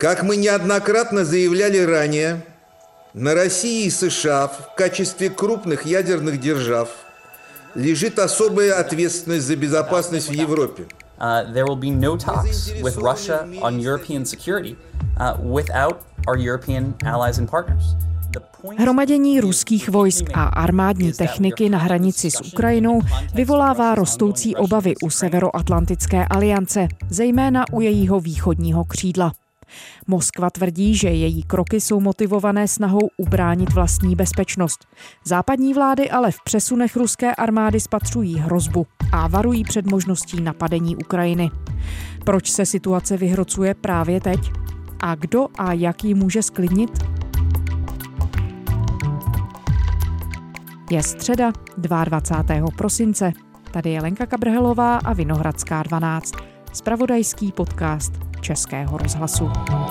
Как мы неоднократно заявляли ранее, на России и США в качестве крупных ядерных держав лежит особая ответственность за безопасность в Европе. There will be no talks with Russia on European security without our European allies and partners. Hromadění ruských vojsk a armádní techniky na hranici s Ukrajinou vyvolává rostoucí obavy u Severoatlantické aliance, zejména u jejího východního křídla. Moskva tvrdí, že její kroky jsou motivované snahou ubránit vlastní bezpečnost. Západní vlády ale v přesunech ruské armády spatřují hrozbu a varují před možností napadení Ukrajiny. Proč se situace vyhrocuje právě teď? A kdo a jak ji může zklidnit? Je středa, 22. prosince. Tady je Lenka Kabrhelová a Vinohradská 12. Zpravodajský podcast Českého rozhlasu.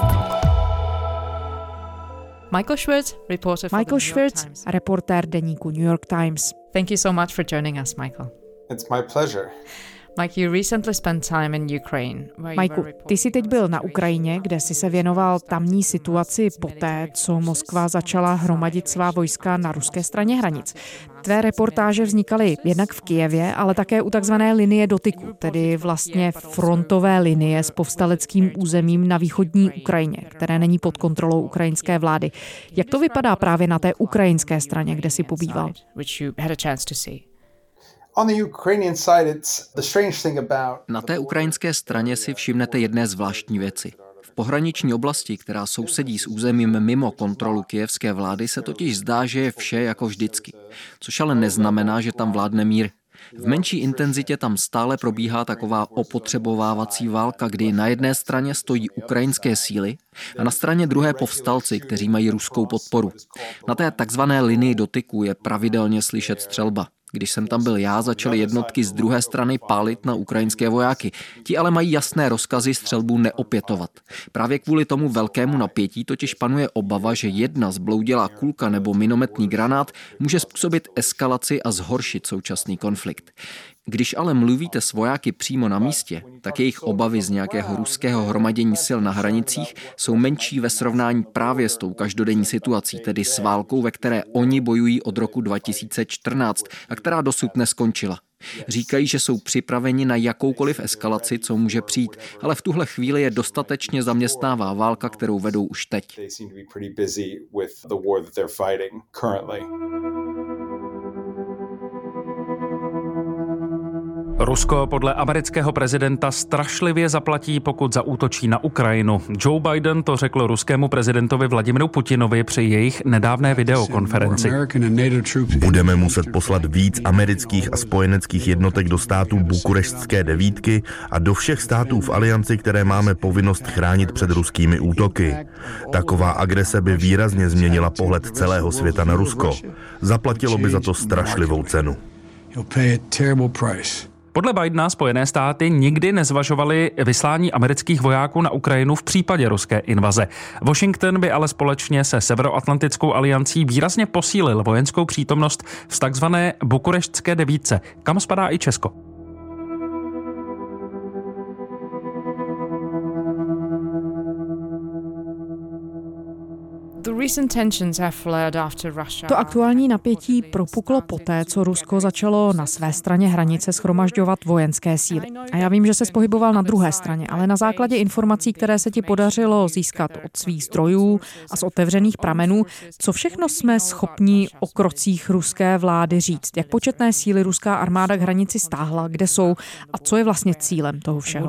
Michael Schwirtz, reportér deníku New York Times. Thank you so much for joining us, Michael. It's my pleasure. Mike, you recently spent time in Ukraine. Michael, ty jsi teď byl na Ukrajině, kde jsi se věnoval tamní situaci poté, co Moskva začala hromadit svá vojska na ruské straně hranic. Tvé reportáže vznikaly jednak v Kyjevě, ale také u takzvané linie dotyku, tedy vlastně frontové linie s povstaleckým územím na východní Ukrajině, které není pod kontrolou ukrajinské vlády. Jak to vypadá právě na té ukrajinské straně, kde jsi pobýval? Na té ukrajinské straně si všimnete jedné zvláštní věci. V pohraniční oblasti, která sousedí s územím mimo kontrolu kyjevské vlády, se totiž zdá, že je vše jako vždycky. Což ale neznamená, že tam vládne mír. V menší intenzitě tam stále probíhá taková opotřebovávací válka, kdy na jedné straně stojí ukrajinské síly a na straně druhé povstalci, kteří mají ruskou podporu. Na té takzvané linii dotyku je pravidelně slyšet střelba. Když jsem tam byl já, začaly jednotky z druhé strany pálit na ukrajinské vojáky. Ti ale mají jasné rozkazy střelbu neopětovat. Právě kvůli tomu velkému napětí totiž panuje obava, že jedna zbloudělá kulka nebo minometný granát může způsobit eskalaci a zhoršit současný konflikt. Když ale mluvíte s vojáky přímo na místě, tak jejich obavy z nějakého ruského hromadění sil na hranicích jsou menší ve srovnání právě s tou každodenní situací, tedy s válkou, ve které oni bojují od roku 2014 a která dosud neskončila. Říkají, že jsou připraveni na jakoukoliv eskalaci, co může přijít, ale v tuhle chvíli je dostatečně zaměstnává válka, kterou vedou už teď. Rusko podle amerického prezidenta strašlivě zaplatí, pokud zaútočí na Ukrajinu. Joe Biden to řekl ruskému prezidentovi Vladimiru Putinovi při jejich nedávné videokonferenci. Budeme muset poslat víc amerických a spojeneckých jednotek do států Bukureštské devítky a do všech států v alianci, které máme povinnost chránit před ruskými útoky. Taková agrese by výrazně změnila pohled celého světa na Rusko. Zaplatilo by za to strašlivou cenu. Podle Bidena Spojené státy nikdy nezvažovaly vyslání amerických vojáků na Ukrajinu v případě ruské invaze. Washington by ale společně se Severoatlantickou aliancí výrazně posílil vojenskou přítomnost v takzvané Bukureštské devítce, kam spadá i Česko. To aktuální napětí propuklo poté, co Rusko začalo na své straně hranice shromažďovat vojenské síly. A já vím, že se pohyboval na druhé straně, ale na základě informací, které se ti podařilo získat od svých zdrojů a z otevřených pramenů, co všechno jsme schopni o krocích ruské vlády říct? Jak početné síly ruská armáda k hranici stáhla, kde jsou a co je vlastně cílem toho všeho?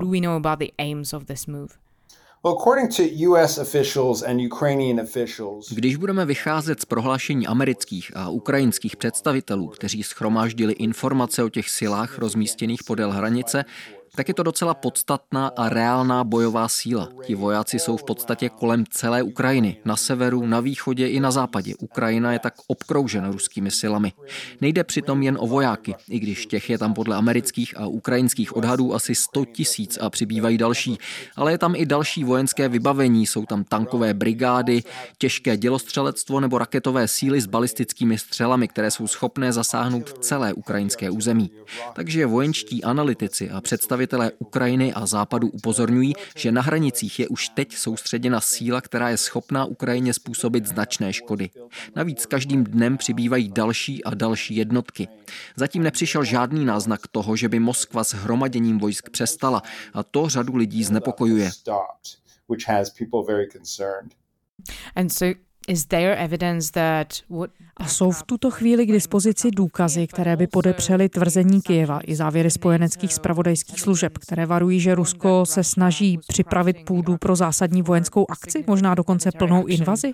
Když budeme vycházet z prohlášení amerických a ukrajinských představitelů, kteří shromáždili informace o těch silách rozmístěných podél hranice, tak je to docela podstatná a reálná bojová síla. Ti vojáci jsou v podstatě kolem celé Ukrajiny, na severu, na východě i na západě. Ukrajina je tak obkroužena ruskými silami. Nejde přitom jen o vojáky, i když těch je tam podle amerických a ukrajinských odhadů asi 100 000 a přibývají další. Ale je tam i další vojenské vybavení, jsou tam tankové brigády, těžké dělostřelectvo nebo raketové síly s balistickými střelami, které jsou schopné zasáhnout celé ukrajinské území. Takže vojenští analytici a představitelé představitelé Ukrajiny a Západu upozorňují, že na hranicích je už teď soustředěna síla, která je schopná Ukrajině způsobit značné škody. Navíc každým dnem přibývají další a další jednotky. Zatím nepřišel žádný náznak toho, že by Moskva s hromaděním vojsk přestala, a to řadu lidí znepokojuje. A jsou v tuto chvíli k dispozici důkazy, které by podepřely tvrzení Kyjeva i závěry spojeneckých zpravodajských služeb, které varují, že Rusko se snaží připravit půdu pro zásadní vojenskou akci, možná dokonce plnou invazi?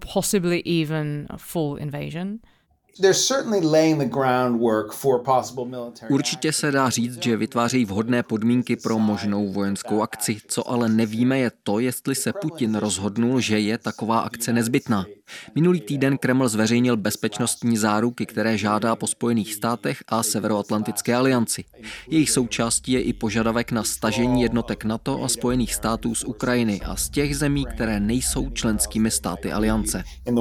Určitě se dá říct, že vytvářejí vhodné podmínky pro možnou vojenskou akci. Co ale nevíme je to, jestli se Putin rozhodnul, že je taková akce nezbytná. Minulý týden Kreml zveřejnil bezpečnostní záruky, které žádá po Spojených státech a Severoatlantické alianci. Jejich součástí je i požadavek na stažení jednotek NATO a Spojených států z Ukrajiny a z těch zemí, které nejsou členskými státy aliance.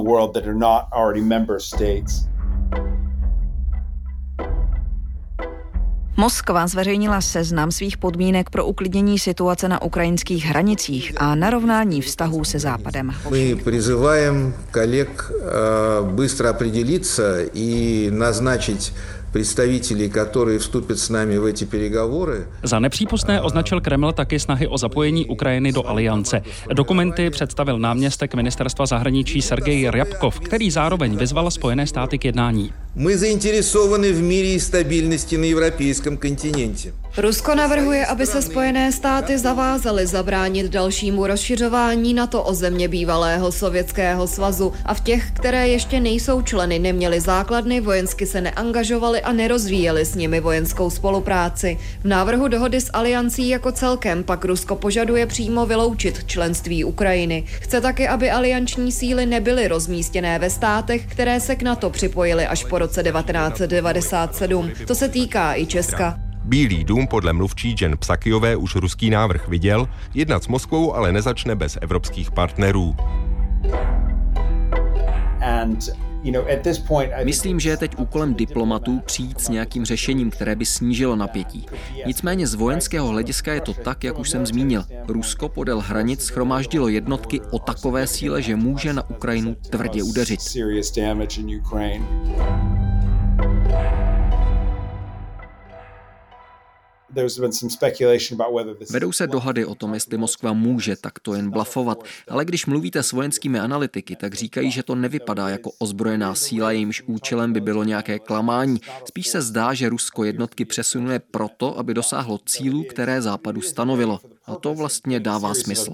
Moskva zveřejnila seznam svých podmínek pro uklidnění situace na ukrajinských hranicích a narovnání vztahů se Západem. My přizýváme kolegy bystro определиться и назначить představitelů, kteří vstoupí s námi v эти переговоры. Za nepřípustné označil Kreml taky snahy o zapojení Ukrajiny do aliance. Dokumenty představil náměstek ministerstva zahraničí Sergej Ryabkov, který zároveň vyzval Spojené státy k jednání. My zainteresovaní v míru i stabilnosti na evropském kontinentě. Rusko navrhuje, aby se Spojené státy zavázaly zabránit dalšímu rozšiřování NATO o země bývalého Sovětského svazu a v těch, které ještě nejsou členy, neměly základny, vojensky se neangažovaly a nerozvíjely s nimi vojenskou spolupráci. V návrhu dohody s aliancí jako celkem pak Rusko požaduje přímo vyloučit členství Ukrajiny. Chce taky, aby alianční síly nebyly rozmístěné ve státech, které se k NATO připojily až po roce 1997. To se týká i Česka. Bílý dům podle mluvčí Jen Psakyové už ruský návrh viděl, jednat s Moskvou ale nezačne bez evropských partnerů. Myslím, že je teď úkolem diplomatů přijít s nějakým řešením, které by snížilo napětí. Nicméně z vojenského hlediska je to tak, jak už jsem zmínil. Rusko podél hranic shromáždilo jednotky o takové síle, že může na Ukrajinu tvrdě udeřit. Vedou se dohady o tom, jestli Moskva může takto jen blafovat, ale když mluvíte s vojenskými analytiky, tak říkají, že to nevypadá jako ozbrojená síla, jejímž účelem by bylo nějaké klamání. Spíš se zdá, že Rusko jednotky přesunuje proto, aby dosáhlo cílů, které Západu stanovilo. A to vlastně dává smysl.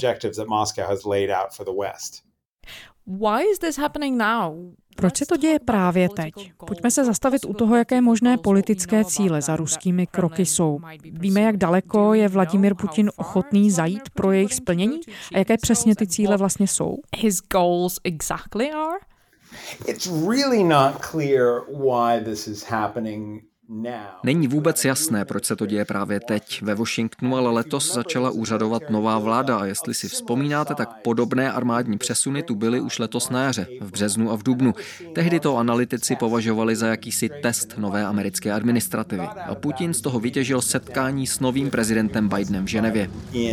Proč se to děje právě teď? Pojďme se zastavit u toho, jaké možné politické cíle za ruskými kroky jsou. Víme, jak daleko je Vladimír Putin ochotný zajít pro jejich splnění? A jaké přesně ty cíle vlastně jsou? His goals exactly are? It's really not clear why this is happening. Není vůbec jasné, proč se to děje právě teď. Ve Washingtonu ale letos začala úřadovat nová vláda a jestli si vzpomínáte, tak podobné armádní přesuny tu byly už letos na jaře, v březnu a v dubnu. Tehdy to analytici považovali za jakýsi test nové americké administrativy. A Putin z toho vytěžil setkání s novým prezidentem Bidenem v Ženevě.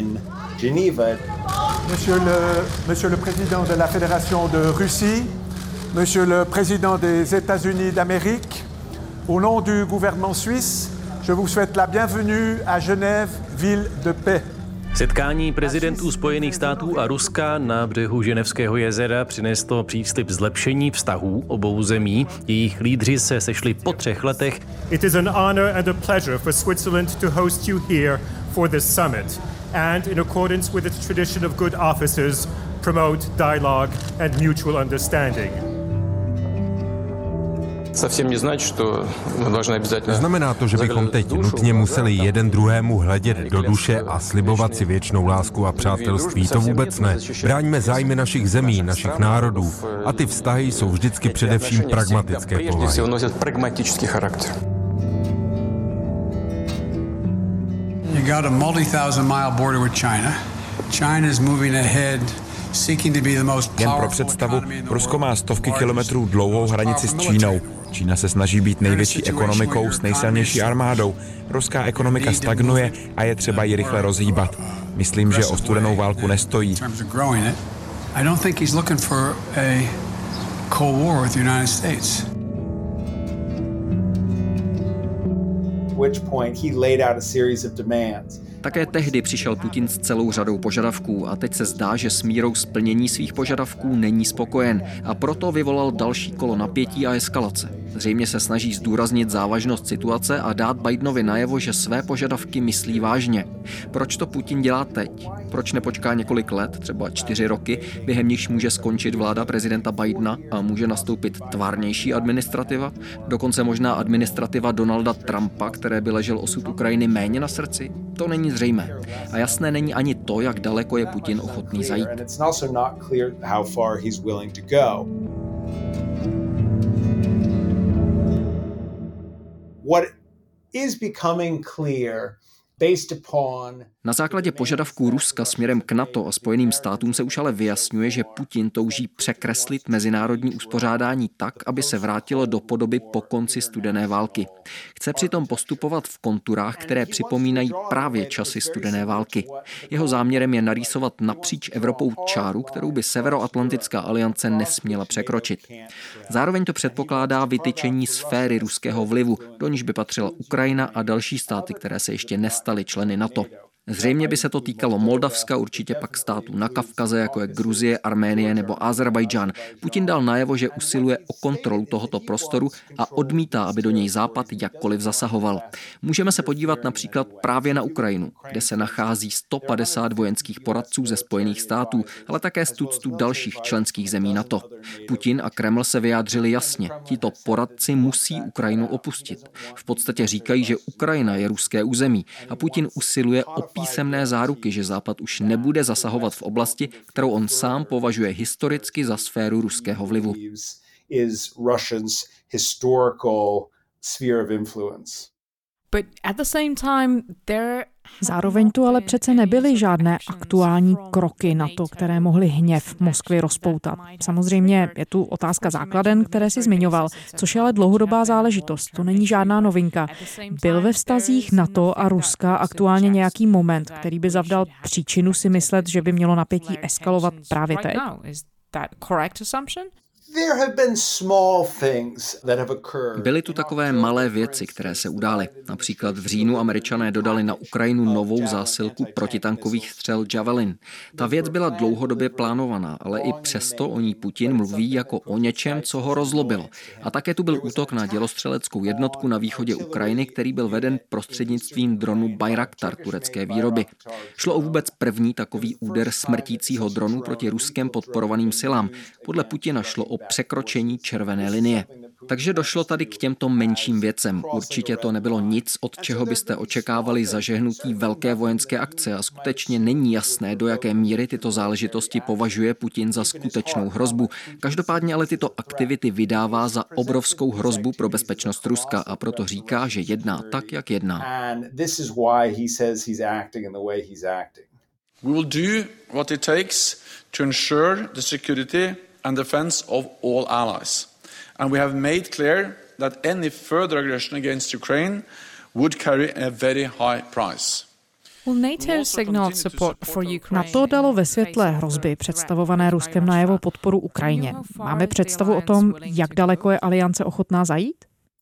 Monsieur le président de la Fédération de Russie, monsieur le président des États-Unis d'Amérique, au nom du gouvernement suisse, je vous souhaite la bienvenue à Genève, ville de paix. Setkání prezidentů Spojených států a Ruska na břehu Ženevského jezera přineslo příslib zlepšení vztahů obou zemí. Jejich lídři se sešli po 3 letech. It is an honor and a pleasure for Switzerland to host you here for this summit and in accordance with its tradition of good offices, promote dialogue and mutual understanding. Znamená to, že bychom teď nutně museli jeden druhému hledět do duše a slibovat si věčnou lásku a přátelství. To vůbec ne. Bráníme zájmy našich zemí, našich národů a ty vztahy jsou vždycky především pragmatické povahy. You got a multi-thousand-mile border with China. China is moving ahead. Jen pro představu, Rusko má stovky kilometrů dlouhou hranici s Čínou. Čína se snaží být největší ekonomikou s nejsilnější armádou. Ruská ekonomika stagnuje a je třeba ji rychle rozhýbat. Myslím, že o studenou válku nestojí. Také tehdy přišel Putin s celou řadou požadavků a teď se zdá, že s mírou splnění svých požadavků není spokojen a proto vyvolal další kolo napětí a eskalace. Zřejmě se snaží zdůraznit závažnost situace a dát Bidenovi najevo, že své požadavky myslí vážně. Proč to Putin dělá teď? Proč nepočká několik let, třeba 4 roky, během nichž může skončit vláda prezidenta Bidena a může nastoupit tvárnější administrativa? Dokonce možná administrativa Donalda Trumpa, které by ležel osud Ukrajiny méně na srdci? To není zřejmé. A jasné není ani to, jak daleko je Putin ochotný zajít. What is becoming clear based upon Na základě požadavků Ruska směrem k NATO a Spojeným státům se už ale vyjasňuje, že Putin touží překreslit mezinárodní uspořádání tak, aby se vrátilo do podoby po konci studené války. Chce přitom postupovat v konturách, které připomínají právě časy studené války. Jeho záměrem je narýsovat napříč Evropou čáru, kterou by Severoatlantická aliance nesměla překročit. Zároveň to předpokládá vytyčení sféry ruského vlivu, do níž by patřila Ukrajina a další státy, které se ještě nestaly členy NATO. Zřejmě by se to týkalo Moldavska, určitě pak států na Kavkaze, jako je Gruzie, Arménie nebo Azerbajdžán. Putin dal najevo, že usiluje o kontrolu tohoto prostoru a odmítá, aby do něj Západ jakkoliv zasahoval. Můžeme se podívat například právě na Ukrajinu, kde se nachází 150 vojenských poradců ze Spojených států, ale také z tuctu dalších členských zemí NATO. Putin a Kreml se vyjádřili jasně. Tito poradci musí Ukrajinu opustit. V podstatě říkají, že Ukrajina je ruské území a Putin usiluje o písemné záruky, že Západ už nebude zasahovat v oblasti, kterou on sám považuje historicky za sféru ruského vlivu. Zároveň tu ale přece nebyly žádné aktuální kroky na to, které mohly hněv Moskvy rozpoutat. Samozřejmě je tu otázka základen, které si zmiňoval, což je ale dlouhodobá záležitost. To není žádná novinka. Byl ve vztazích NATO a Ruska aktuálně nějaký moment, který by zavdal příčinu si myslet, že by mělo napětí eskalovat právě teď? Byly tu takové malé věci, které se udály. Například v říjnu Američané dodali na Ukrajinu novou zásilku protitankových střel Javelin. Ta věc byla dlouhodobě plánovaná, ale i přesto o ní Putin mluví jako o něčem, co ho rozlobilo. A také tu byl útok na dělostřeleckou jednotku na východě Ukrajiny, který byl veden prostřednictvím dronu Bayraktar turecké výroby. Šlo o vůbec první takový úder smrtícího dronu proti ruskem podporovaným silám. Podle Putina šlo o překročení červené linie. Takže došlo tady k těmto menším věcem. Určitě to nebylo nic, od čeho byste očekávali zažehnutí velké vojenské akce a skutečně není jasné, do jaké míry tyto záležitosti považuje Putin za skutečnou hrozbu. Každopádně ale tyto aktivity vydává za obrovskou hrozbu pro bezpečnost Ruska a proto říká, že jedná tak, jak jedná. We will do what it takes to ensure the security and defense of all allies. And we have made clear that any further aggression against Ukraine would carry a very high price. NATO dalo ve světle hrozby představované Ruskem najevo podporu Ukrajině. Máme představu o tom, jak daleko je aliance ochotná zajít?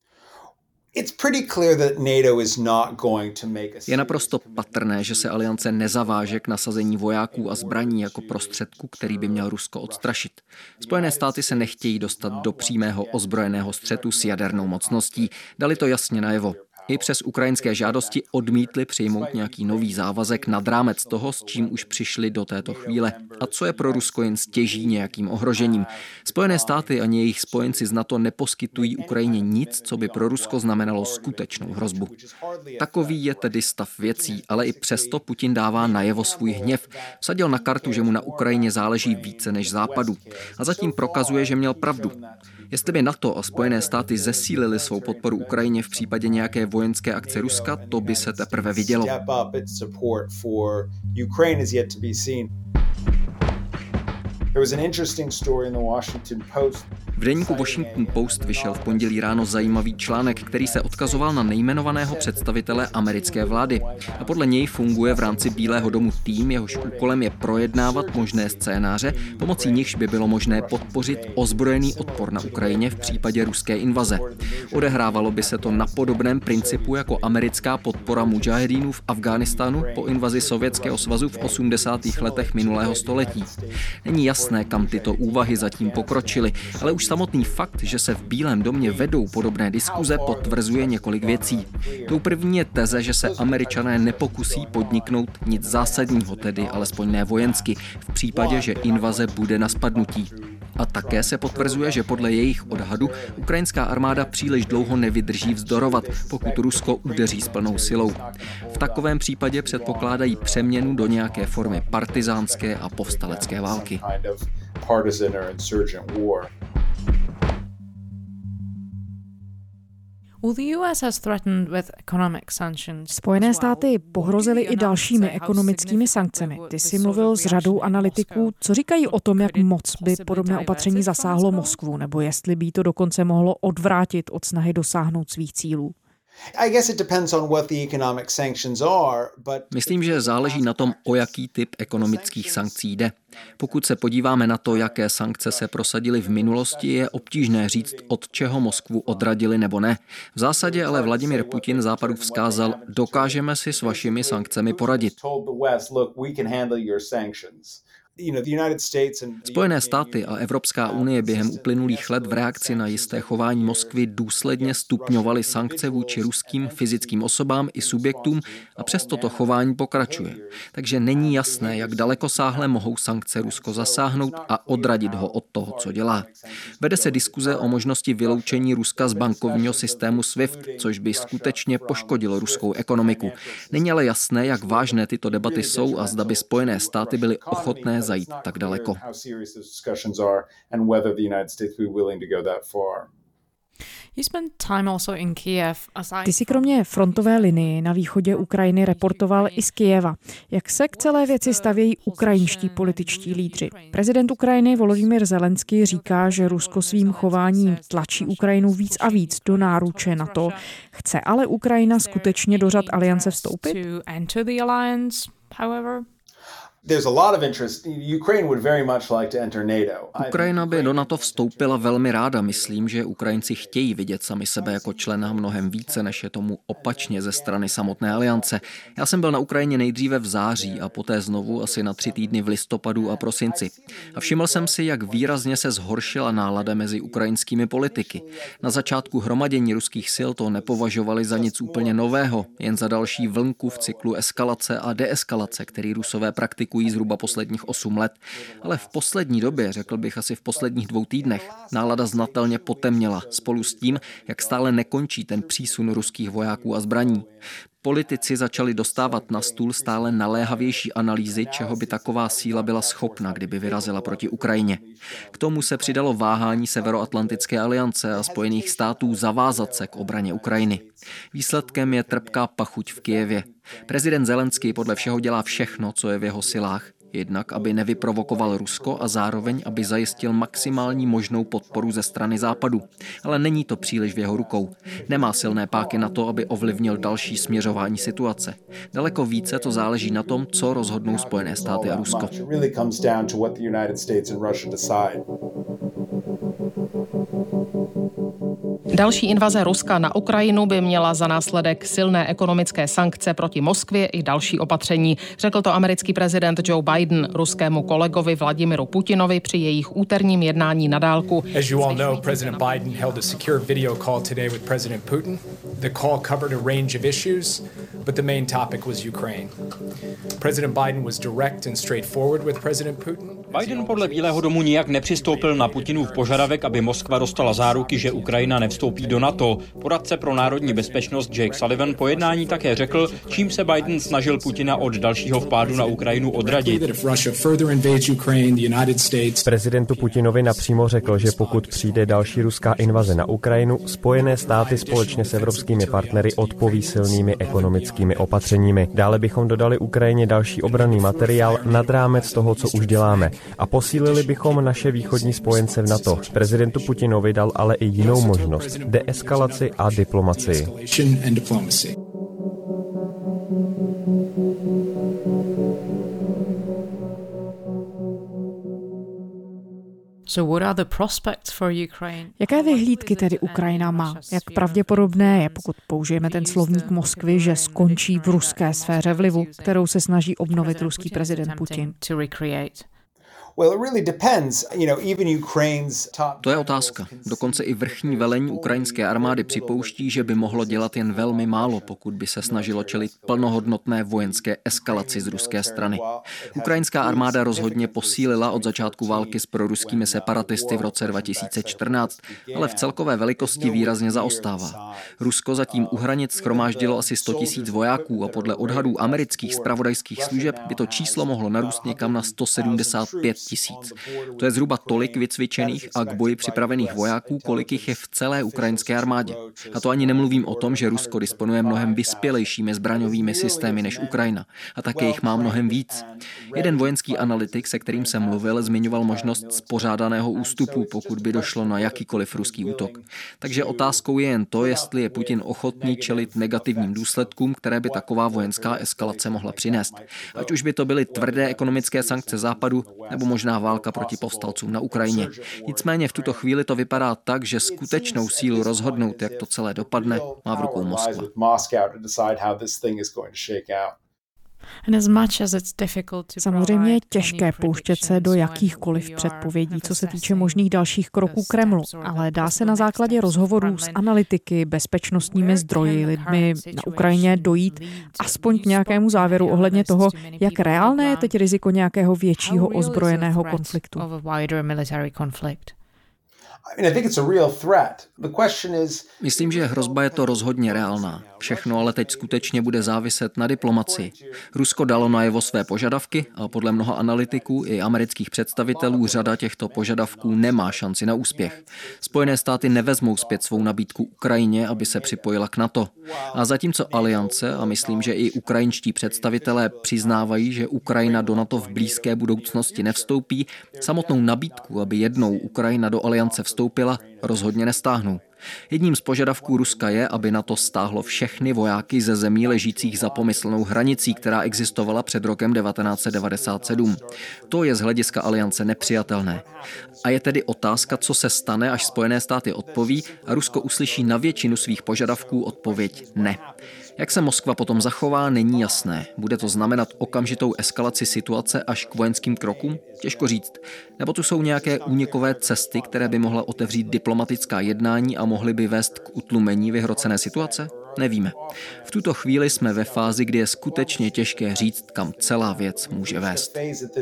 Je naprosto patrné, že se aliance nezaváže k nasazení vojáků a zbraní jako prostředku, který by měl Rusko odstrašit. Spojené státy se nechtějí dostat do přímého ozbrojeného střetu s jadernou mocností. Dali to jasně najevo. I přes ukrajinské žádosti odmítli přijmout nějaký nový závazek nad rámec toho, s čím už přišli do této chvíle. A co je pro Rusko jen stěží nějakým ohrožením. Spojené státy ani jejich spojenci z NATO neposkytují Ukrajině nic, co by pro Rusko znamenalo skutečnou hrozbu. Takový je tedy stav věcí, ale i přesto Putin dává najevo svůj hněv. Vsadil na kartu, že mu na Ukrajině záleží více než Západu. A zatím prokazuje, že měl pravdu. Jestli by NATO a Spojené státy zesílili svou podporu Ukrajině v případě nějaké vojenské akce Ruska, to by se teprve vidělo. There was an interesting story in the Washington Post V deníku Washington Post vyšel v pondělí ráno zajímavý článek, který se odkazoval na nejmenovaného představitele americké vlády. A podle něj funguje v rámci Bílého domu tým, jehož úkolem je projednávat možné scénáře, pomocí nichž by bylo možné podpořit ozbrojený odpor na Ukrajině v případě ruské invaze. Odehrávalo by se to na podobném principu jako americká podpora mudžahedínů v Afghánistánu po invazi Sovětského svazu v 80. letech minulého století. Není jasné, kam tyto úvahy zatím pokročily, ale už samotný fakt, že se v Bílém domě vedou podobné diskuze, potvrzuje několik věcí. Tou první je teze, že se Američané nepokusí podniknout nic zásadního, tedy alespoň ne vojensky, v případě, že invaze bude na spadnutí. A také se potvrzuje, že podle jejich odhadu ukrajinská armáda příliš dlouho nevydrží vzdorovat, pokud Rusko udeří s plnou silou. V takovém případě předpokládají přeměnu do nějaké formy partizánské a povstalecké války. Spojené státy pohrozily i dalšími ekonomickými sankcemi. Ty jsi mluvil s řadou analytiků. Co říkají o tom, jak moc by podobné opatření zasáhlo Moskvu, nebo jestli by to dokonce mohlo odvrátit od snahy dosáhnout svých cílů? Myslím, že záleží na tom, o jaký typ ekonomických sankcí jde. Pokud se podíváme na to, jaké sankce se prosadily v minulosti, je obtížné říct, od čeho Moskvu odradili nebo ne. V zásadě ale Vladimír Putin Západu vzkázal, dokážeme si s vašimi sankcemi poradit. Spojené státy a Evropská unie během uplynulých let v reakci na jisté chování Moskvy důsledně stupňovaly sankce vůči ruským fyzickým osobám i subjektům a přesto to chování pokračuje. Takže není jasné, jak dalekosáhle mohou sankce Rusko zasáhnout a odradit ho od toho, co dělá. Vede se diskuze o možnosti vyloučení Ruska z bankovního systému SWIFT, což by skutečně poškodilo ruskou ekonomiku. Není ale jasné, jak vážné tyto debaty jsou a zda by Spojené státy byly ochotné zajít tak daleko. Ty jsi kromě frontové linie na východě Ukrajiny reportoval i z Kyjeva. Jak se k celé věci stavějí ukrajinští političtí lídři? Prezident Ukrajiny Volodymyr Zelenský říká, že Rusko svým chováním tlačí Ukrajinu víc a víc do náruče NATO. Chce ale Ukrajina skutečně do řad aliance vstoupit? Ukrajina by do NATO vstoupila velmi ráda. Myslím, že Ukrajinci chtějí vidět sami sebe jako člena mnohem více, než je tomu opačně ze strany samotné aliance. Já jsem byl na Ukrajině nejdříve v září a poté znovu asi na 3 týdny v listopadu a prosinci. A všiml jsem si, jak výrazně se zhoršila nálada mezi ukrajinskými politiky. Na začátku hromadění ruských sil to nepovažovali za nic úplně nového, jen za další vlnku v cyklu eskalace a deeskalace, který Rusové praktikují zhruba posledních 8 let. Ale v poslední době, řekl bych asi v posledních 2 týdnech, nálada znatelně potemněla spolu s tím, jak stále nekončí ten přísun ruských vojáků a zbraní. Politici začali dostávat na stůl stále naléhavější analýzy, čeho by taková síla byla schopna, kdyby vyrazila proti Ukrajině. K tomu se přidalo váhání Severoatlantické aliance a Spojených států zavázat se k obraně Ukrajiny. Výsledkem je trpká pachuť v Kyjevě. Prezident Zelenský podle všeho dělá všechno, co je v jeho silách. Jednak, aby nevyprovokoval Rusko a zároveň, aby zajistil maximální možnou podporu ze strany Západu. Ale není to příliš v jeho rukou. Nemá silné páky na to, aby ovlivnil další směřování situace. Daleko více to záleží na tom, co rozhodnou Spojené státy a Rusko. Další invaze Ruska na Ukrajinu by měla za následek silné ekonomické sankce proti Moskvě i další opatření. Řekl to americký prezident Joe Biden ruskému kolegovi Vladimiru Putinovi při jejich úterním jednání na dálku. As you all know, President Biden held a secure video call today with President Putin. The call covered a range of issues, but the main topic was Ukraine. President Biden was direct and straightforward with President Putin. Biden podle Bílého domu nijak nepřistoupil na Putinův požadavek, aby Moskva dostala záruky, že Ukrajina nevstoupí do NATO. Poradce pro národní bezpečnost Jake Sullivan po jednání také řekl, čím se Biden snažil Putina od dalšího vpádu na Ukrajinu odradit. Prezidentu Putinovi napřímo řekl, že pokud přijde další ruská invaze na Ukrajinu, Spojené státy společně s evropskými partnery odpoví silnými ekonomickými opatřeními. Dále bychom dodali Ukrajině další obranný materiál nad rámec toho, co už děláme, a posílili bychom naše východní spojence v NATO. Prezidentu Putinovi dal ale i jinou možnost, deeskalaci a diplomacii. Jaké vyhlídky tedy Ukrajina má? Jak pravděpodobné je, pokud použijeme ten slovník Moskvy, že skončí v ruské sféře vlivu, kterou se snaží obnovit ruský prezident Putin? To je otázka. Dokonce i vrchní velení ukrajinské armády připouští, že by mohlo dělat jen velmi málo, pokud by se snažilo čelit plnohodnotné vojenské eskalaci z ruské strany. Ukrajinská armáda rozhodně posílila od začátku války s proruskými separatisty v roce 2014, ale v celkové velikosti výrazně zaostává. Rusko zatím u hranic shromáždilo asi 100 000 vojáků a podle odhadů amerických zpravodajských služeb by to číslo mohlo narůst někam na 175 000. To je zhruba tolik vycvičených a k boji připravených vojáků, kolik jich je v celé ukrajinské armádě. A to ani nemluvím o tom, že Rusko disponuje mnohem vyspělejšími zbraňovými systémy než Ukrajina a také jich má mnohem víc. Jeden vojenský analytik, se kterým jsem mluvil, zmiňoval možnost spořádaného ústupu, pokud by došlo na jakýkoliv ruský útok. Takže otázkou je jen to, jestli je Putin ochotný čelit negativním důsledkům, které by taková vojenská eskalace mohla přinést. Ať už by to byly tvrdé ekonomické sankce Západu, nebo možná válka proti povstalcům na Ukrajině. Nicméně v tuto chvíli to vypadá tak, že skutečnou sílu rozhodnout, jak to celé dopadne, má v rukou Moskva. Samozřejmě je těžké pouštět se do jakýchkoliv předpovědí, co se týče možných dalších kroků Kremlu, ale dá se na základě rozhovorů s analytiky, bezpečnostními zdroji, lidmi na Ukrajině dojít aspoň k nějakému závěru ohledně toho, jak reálné je teď riziko nějakého většího ozbrojeného konfliktu. Myslím, že hrozba je to rozhodně reálná. Všechno ale teď skutečně bude záviset na diplomacii. Rusko dalo najevo své požadavky a podle mnoha analytiků i amerických představitelů řada těchto požadavků nemá šanci na úspěch. Spojené státy nevezmou zpět svou nabídku Ukrajině, aby se připojila k NATO. A zatímco aliance, a myslím, že i ukrajinští představitelé přiznávají, že Ukrajina do NATO v blízké budoucnosti nevstoupí, samotnou nabídku, aby jednou Ukrajina do aliance vstoupila, rozhodně nestáhnou. Jedním z požadavků Ruska je, aby NATO stáhlo všechny vojáky ze zemí ležících za pomyslnou hranicí, která existovala před rokem 1997. To je z hlediska aliance nepřijatelné. A je tedy otázka, co se stane, až Spojené státy odpoví a Rusko uslyší na většinu svých požadavků odpověď ne. Jak se Moskva potom zachová, není jasné. Bude to znamenat okamžitou eskalaci situace až k vojenským krokům? Těžko říct. Nebo tu jsou nějaké únikové cesty, které by mohla otevřít diplomatická jednání a mohly by vést k utlumení vyhrocené situace? Nevíme. V tuto chvíli jsme ve fázi, kdy je skutečně těžké říct, kam celá věc může vést.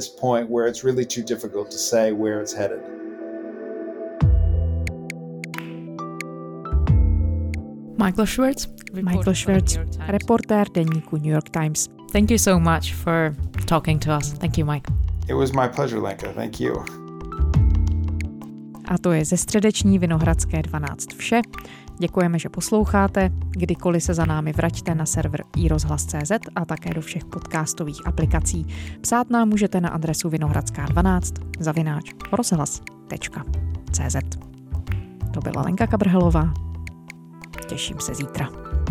Michael Schwartz, reportér deníku New York Times. Thank you so much for talking to us. Thank you, Mike. It was my pleasure, Lenka. Thank you. A to je ze středeční Vinohradské 12 vše. Děkujeme, že posloucháte. Kdykoliv se za námi vraťte na server iRozhlas.cz a také do všech podcastových aplikací. Psát nám můžete na adresu vinohradská12@rozhlas.cz. To byla Lenka Kabrhelová. Těším se zítra.